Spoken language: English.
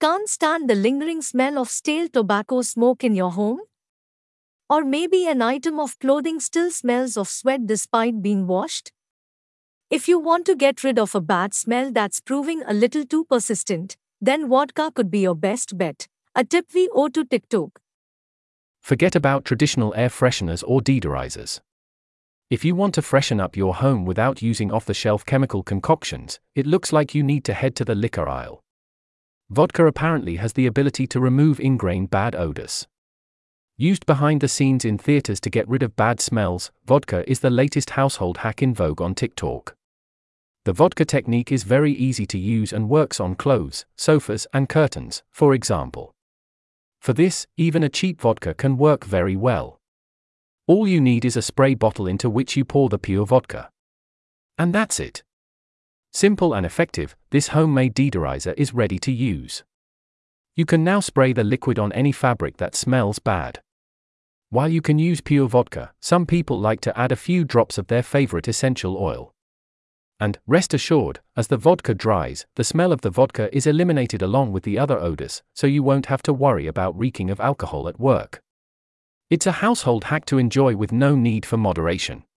can't stand the lingering smell of stale tobacco smoke in your home? Or maybe an item of clothing still smells of sweat despite being washed? If you want to get rid of a bad smell that's proving a little too persistent, then vodka could be your best bet. A tip we owe to TikTok. Forget about traditional air fresheners or deodorizers. If you want to freshen up your home without using off-the-shelf chemical concoctions, it looks like you need to head to the liquor aisle. Vodka apparently has the ability to remove ingrained bad odors. Used behind the scenes in theaters to get rid of bad smells, vodka is the latest household hack in vogue on TikTok. The vodka technique is very easy to use and works on clothes, sofas, and curtains, for example. For this, even a cheap vodka can work very well. All you need is a spray bottle into which you pour the pure vodka. And that's it. Simple and effective, this homemade deodorizer is ready to use. You can now spray the liquid on any fabric that smells bad. While you can use pure vodka, some people like to add a few drops of their favorite essential oil. And, rest assured, as the vodka dries, the smell of the vodka is eliminated along with the other odors, so you won't have to worry about reeking of alcohol at work. It's a household hack to enjoy with no need for moderation.